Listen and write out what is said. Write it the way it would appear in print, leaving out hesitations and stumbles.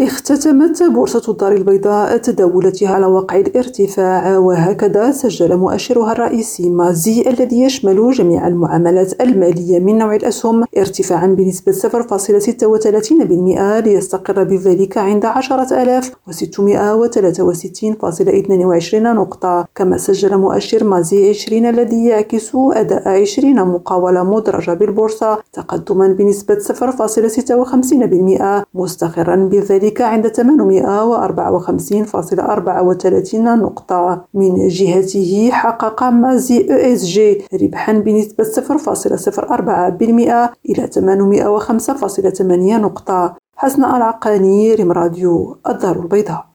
اختتمت بورصة الدار البيضاء تداولاتها على وقع الارتفاع، وهكذا سجل مؤشرها الرئيسي مازي الذي يشمل جميع المعاملات المالية من نوع الأسهم ارتفاعا بنسبة 0.36% ليستقر بذلك عند 10,663.22 نقطة. كما سجل مؤشر مازي 20 الذي يعكس أداء 20 مقاولة مدرجة بالبورصة تقدما بنسبة 0.56%، مستقرا بذلك عند 854.34 نقطة. من جهته حقق مازي ESG ربحا بنسبة 0.04% إلى 805.8 نقطة. حسن العقاني، ريم راديو، الدار البيضاء.